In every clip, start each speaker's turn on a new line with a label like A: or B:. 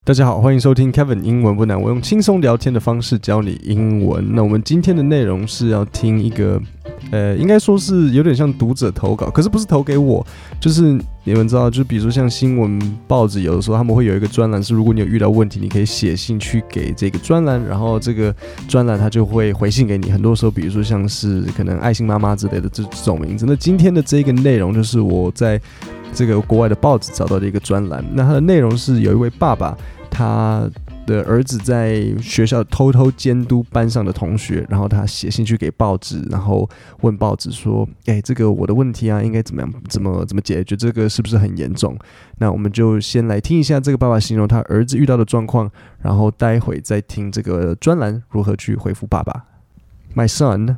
A: 大家好，歡迎收聽 Kevin 英文不難，我用輕鬆聊天的方式教你英文。那我們今天的內容是要聽一個，應該說是有點像讀者投稿，可是不是投給我，就是你們知道，就比如說像新聞報紙，有的時候他們會有一個專欄，是如果你有遇到問題，你可以寫信去給這個專欄，然後這個專欄他就會回信給你。很多時候，比如說像是可能愛心媽媽之類的這種名字。那今天的這個內容就是我在這個國外的報紙找到的一個專欄，那它的內容是有一位爸爸，他的兒子在學校偷偷監督班上的同學，然後他寫信去給報紙，然後問報紙說：“這個我的問題啊，應該怎麼樣，怎麼解決？這個是不是很嚴重？”那我們就先來聽一下這個爸爸形容他兒子遇到的狀況，然後待會再聽這個專欄如何去回復爸爸。My son,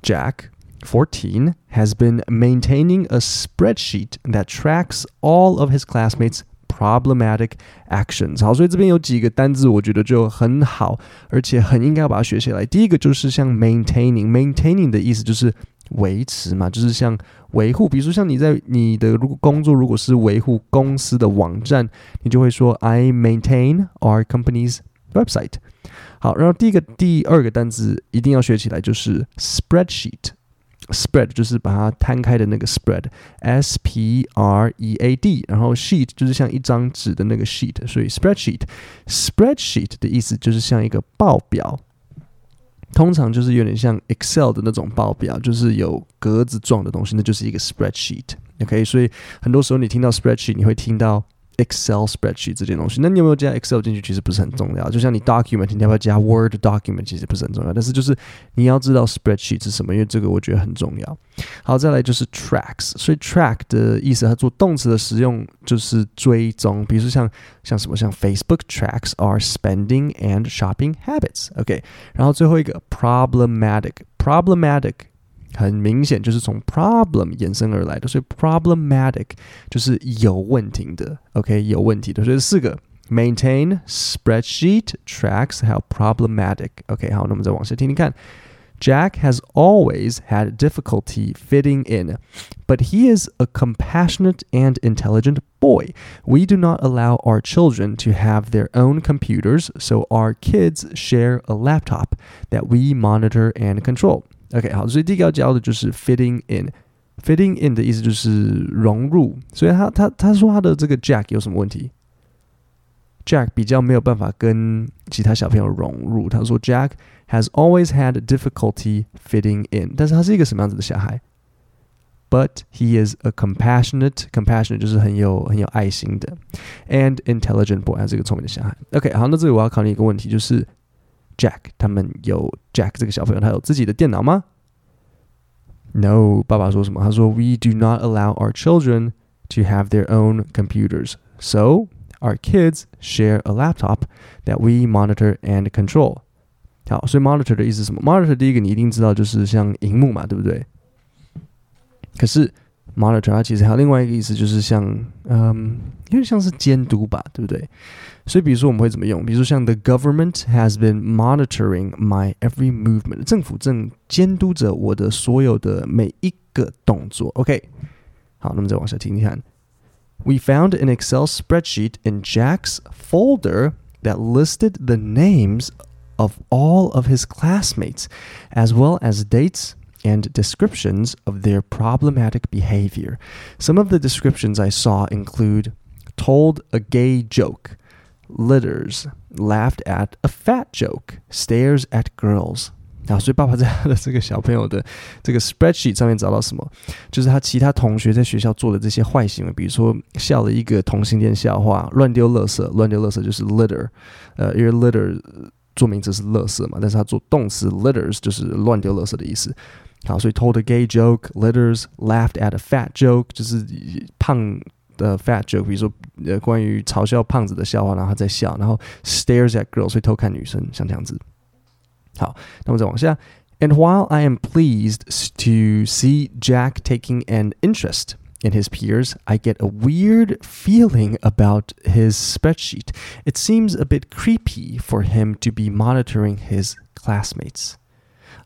A: Jack,14 has been maintaining a spreadsheet that tracks all of his classmates' problematic actions. 好，所以這邊有幾個單字我覺得就很好，而且很應該要把它學起來。第一個就是像 maintaining 的意思就是維持嘛，就是像維護，比如說像你在你的工作如果是維護公司的網站，你就會說 I maintain our company's website。好，然后第二個單字一定要學起來，就是 spreadsheet。Spread 就是把它攤開的那個 spread，S-P-R-E-A-D， 然後 sheet 就是像一張紙的那個 sheet， 所以 spreadsheet 的意思就是像一個報表，通常就是有點像 Excel 的那種報表，就是有格子狀的東西，那就是一個 spreadsheet。OK， 所以很多時候你聽到 spreadsheet， 你會聽到Excel spreadsheet 這件東西，那你有沒有加 Excel 進去其實不是很重要，就像你 document 你要不要加 Word document 其實不是很重要，但是就是你要知道 spreadsheet 是什麼，因為這個我覺得很重要。好，再來就是 tracks， 所以 track 的意思它做動詞的使用就是追蹤，比如說像什麼，像 Facebook tracks our spending and shopping habits。OK， 然後最後一個 problematic 很明顯就是從 problem 衍生而來的，所以 problematic 就是有問題的 ，OK， 有問題的，所以4個 maintain, spreadsheet, tracks 還有 problematic。OK， 好，那我們再往下聽聽看。Jack has always had difficulty fitting in, but he is a compassionate and intelligent boy. We do not allow our children to have their own computers, so our kids share a laptop that we monitor and control.OK， 好，所以第一個要教的就是 fitting in。fitting in 的意思就是融入，所以他說他的這個 Jack 有什麼問題 ？Jack 比較沒有辦法跟其他小朋友融入。他說 Jack has always had difficulty fitting in， 但是他是一個什麼樣子的小孩 ？But he is a compassionate 就是很有愛心的 ，and intelligent boy， 他是一個聰明的小孩。OK， 好，那這裡我要考你一個問題，就是。Jack 他們有 Jack 這個小朋友，他有自己的電腦嗎 ？No， 爸爸說什麼？他說 We do not allow our children to have their own computers, so our kids share a laptop that we monitor and control. 好，所以 monitor 的意思是什麼 ？monitor 第一個你一定知道就是像螢幕嘛，對不對？可是 monitor 它其實還有另外一個意思，就是像有點像是監督吧，對不對？所以比如說我們會怎麼用？比如說像 The government has been monitoring my every movement， 政府正監督着我的所有的每一個動作。OK， 好，那麼再往下聽聽看。We found an Excel spreadsheet in Jack's folder that listed the names of all of his classmates, as well as dates.and descriptions of their problematic behavior. Some of the descriptions I saw include told a gay joke, litters, laughed at a fat joke, stares at girls. 好，所以爸爸在他的這個小朋友的這個 spreadsheet 上面找到什麼？就是他其他同學在學校做的這些壞行為，比如說笑了一個同性戀笑話，亂丟垃圾就是 litter， 因為 litter 做名詞是垃圾嘛，但是他做動詞 litters 就是亂丟垃圾的意思。好，所以 told a gay joke, litters, laughed at a fat joke 就是胖的 fat joke， 比如說關於嘲笑胖子的笑話，然後他在笑，然後 stares at girls 所以偷看女生，像這樣子。好，那麼再往下。And while I am pleased to see Jack taking an interest in his peers, I get a weird feeling about his spreadsheet. It seems a bit creepy for him to be monitoring his classmates.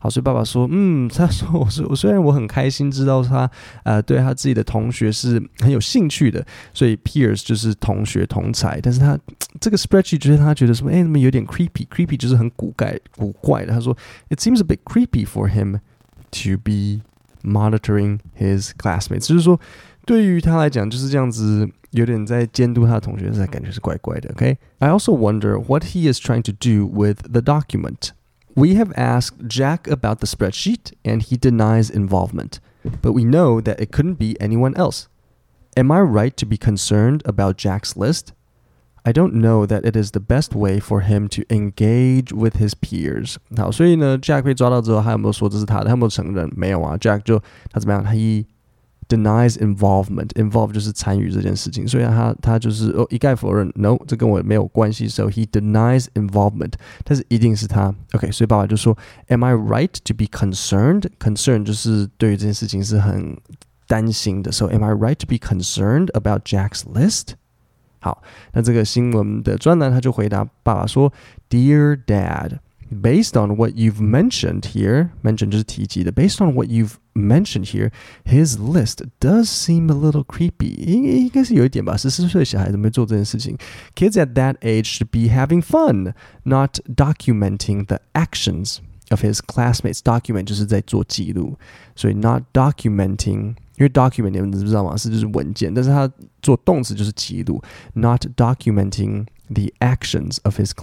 A: 好，所以爸爸說，他說我雖然我很開心知道他對他自己的同學是很有興趣的，所以 peers 就是同學同儕，但是他這個 spreadsheet 就是他覺得什麼，怎麼有點 creepy 就是很古怪的。他說 it seems a bit creepy for him to be monitoring his classmates， 就是說對於他來講就是這樣子。有點在監督他的同學，感覺是怪怪的。Okay? I also wonder what he is trying to do with the document. We have asked Jack about the spreadsheet, and he denies involvement. But we know that it couldn't be anyone else. Am I right to be concerned about Jack's list? I don't know that it is the best way for him to engage with his peers. 好，所以呢 ，Jack 被抓到之後，他有沒有說這是他的？他有沒有承認？沒有啊 ，Jack 就他怎麼樣？他denies involve 就是參與這件事情，所以他就是一概否認 ，no， 這跟我沒有關係 ，so he denies involvement， 但是一定是他 ，OK， 所以爸爸就說 ，Am I right to be concerned？ Concern 就是對於這件事情是很擔心的 ，so am I right to be concerned about Jack's list？ 好，那這個新聞的專欄他就回答爸爸說 ，Dear Dad。Based on what you've mentioned here, mention 就是提及的 Based on what you've mentioned here, his list does seem a little creepy. 應該是有一點吧，14歲小孩怎麼會做這件事情 Kids at that age should be having fun, not documenting the actions of his classmates. Document 就是在做記錄，所以 not documenting， 因為 document 你們知道嗎？是就是文件，但是他做動詞就是記錄 ，not documenting the actions of his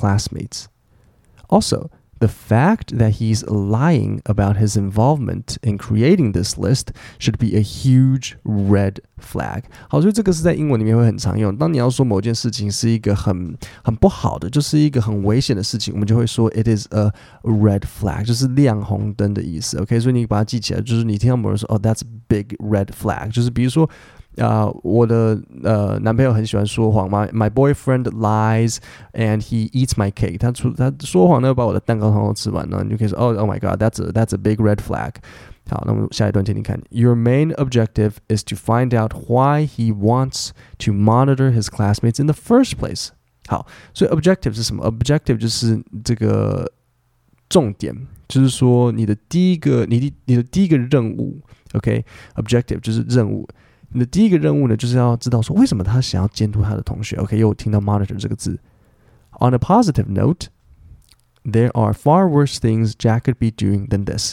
A: classmates.Also,the fact that he's lying about his involvement in creating this list should be a huge red flag. 好，所以這個是在英文裡面會很常用。當你要說某件事情是一個很不好的，就是一個很危險的事情，我們就會說 it is a red flag， 就是亮紅燈的意思。OK， 所以你把它記起來，就是你聽到某人說哦 that's a big red flag， 就是比如說。我的男朋友很喜歡說謊嘛 My boyfriend lies and he eats my cake. 他說謊呢，把我的蛋糕都吃完了，你就可以說 Oh my God, that's a big red flag. 好，那麼下一段聽聽看。Your main objective is to find out why he wants to monitor his classmates in the first place. 好，所以 objective 是什麼 ？objective 就是這個重點，就是說你的第一個任務 ，OK？Objective 就是任務。你的第一個任務呢，就是要知道說為什麼他想要監督他的同學。OK， 又聽到 monitor 這個字。On a positive note, there are far worse things Jack could be doing than this.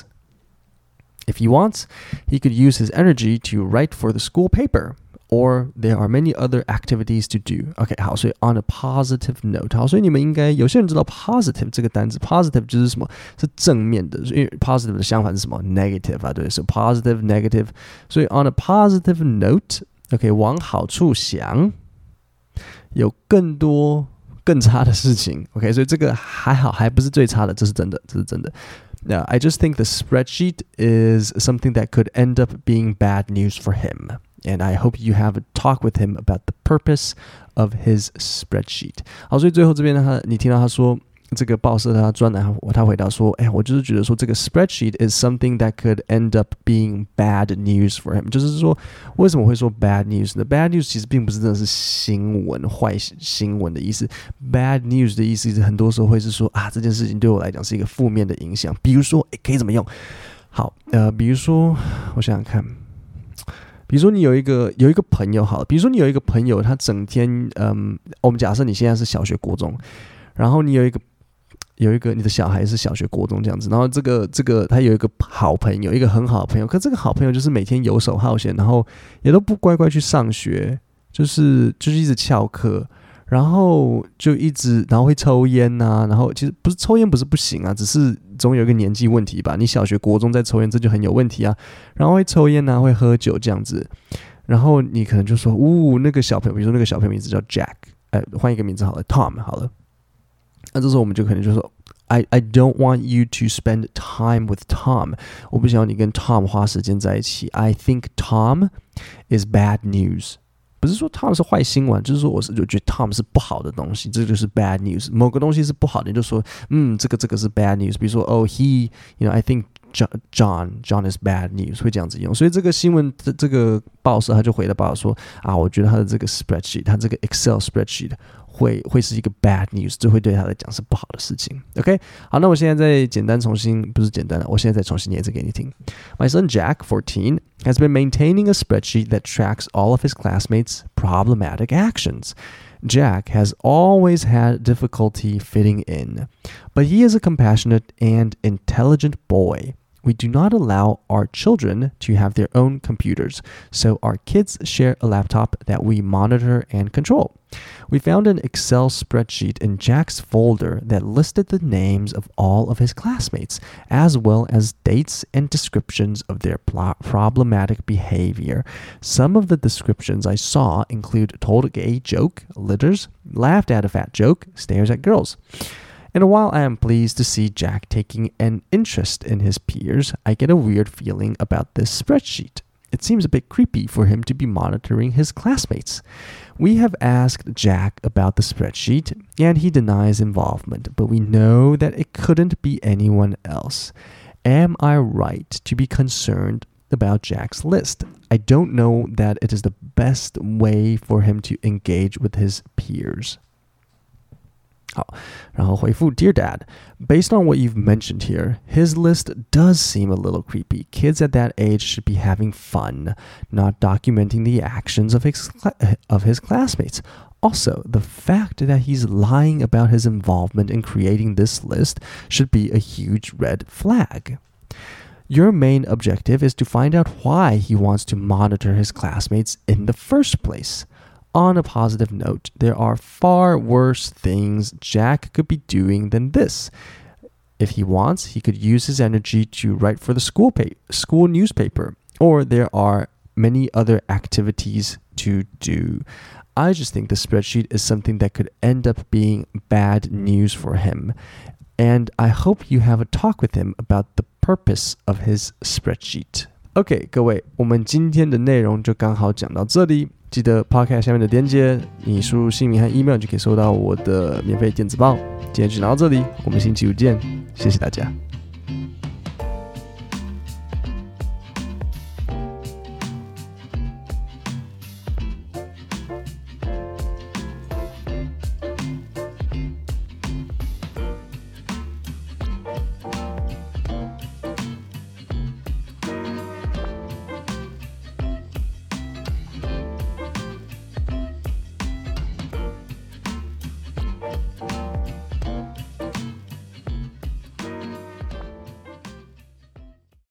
A: If he wants, he could use his energy to write for the school paper, or there are many other activities to do. OK， 好，所以 on a positive note， 好，所以你們應該有些人知道 positive 這個單字 ，positive 就是什麼？是正面的，因為 positive 的相反是什麼 ？negative 啊，對，so positive negative， 所以 on a positive note，OK， 往好處想，有更多更差的事情 ，OK， 所以這個還好，還不是最差的，這是真的，這是真的。Now, I just think the spreadsheet is something that could end up being bad news for him.And I hope you have a talk with him about the purpose of his spreadsheet. 好，所以最後這邊呢，你聽到他說這個報社他專欄，他回答說，我就是覺得說這個 spreadsheet is something that could end up being bad news for him. 就是說為什麼會說 bad news 呢 ？Bad news 其實並不是真的是新聞壞新聞的意思。Bad news 的意思是很多時候會是說這件事情對我來講是一個負面的影響。比如說，可以怎麼用？好，比如說我想想看。比如說你有一個朋友好了，比如說你有一個朋友，他整天我們假設你現在是小學國中，然後你有一個你的小孩是小學國中這樣子，然後這個他有一個好朋友，一個很好的朋友，可这個好朋友就是每天游手好閒，然後也都不乖乖去上學，就是一直翹課。然後然後會抽煙啊，然後其實不是抽煙不是不行啊，只是總有一個年紀問題吧。你小學國中在抽煙，這就很有問題啊。然後會抽煙啊，會喝酒這樣子。然後你可能就說，那個小朋友，比如說那個小朋友名字叫 Jack， 換一個名字好了 ，Tom 好了。那這時候我們就可能就說 I don't want you to spend time with Tom， 我不想要你跟 Tom 花時間在一起。I think Tom is bad news。不是說 Tom 是壞新聞，就是說我覺得 Tom 是不好的東西，這就是 bad news。某個東西是不好的，你就說這個是 bad news。比如說I think John is bad news， 會這樣子用。所以這個新聞這個報社他就回了報說我覺得他的這個 spreadsheet， 他這個 Excel spreadsheet 會是一個 bad news， 這會對他來講是不好的事情。OK， 好，那我現在再簡單重新，不是簡單了，我現在再重新念一次給你聽。My son Jack, 14, has been maintaining a spreadsheet that tracks all of his classmates' problematic actions. Jack has always had difficulty fitting in, but he is a compassionate and intelligent boy.We do not allow our children to have their own computers, so our kids share a laptop that we monitor and control. We found an Excel spreadsheet in Jack's folder that listed the names of all of his classmates, as well as dates and descriptions of their problematic behavior. Some of the descriptions I saw include told a gay joke, litters, laughed at a fat joke, stares at girls.And while I am pleased to see Jack taking an interest in his peers, I get a weird feeling about this spreadsheet. It seems a bit creepy for him to be monitoring his classmates. We have asked Jack about the spreadsheet, and he denies involvement, but we know that it couldn't be anyone else. Am I right to be concerned about Jack's list? I don't know that it is the best way for him to engage with his peers.好，然後回復 Dear Dad, based on what you've mentioned here, his list does seem a little creepy. Kids at that age should be having fun, not documenting the actions of his classmates. Also, the fact that he's lying about his involvement in creating this list should be a huge red flag. Your main objective is to find out why he wants to monitor his classmates in the first place.On a positive note, there are far worse things Jack could be doing than this. If he wants, he could use his energy to write for the school newspaper, or there are many other activities to do. I just think the spreadsheet is something that could end up being bad news for him, and I hope you have a talk with him about the purpose of his spreadsheet. OK， 各位，我们今天的內容就剛好講到這裡。記得 Podcast 下面的連結，你輸入姓名和 email 就可以收到我的免費電子報。今天就講到這裡，我們星期五見，謝謝大家。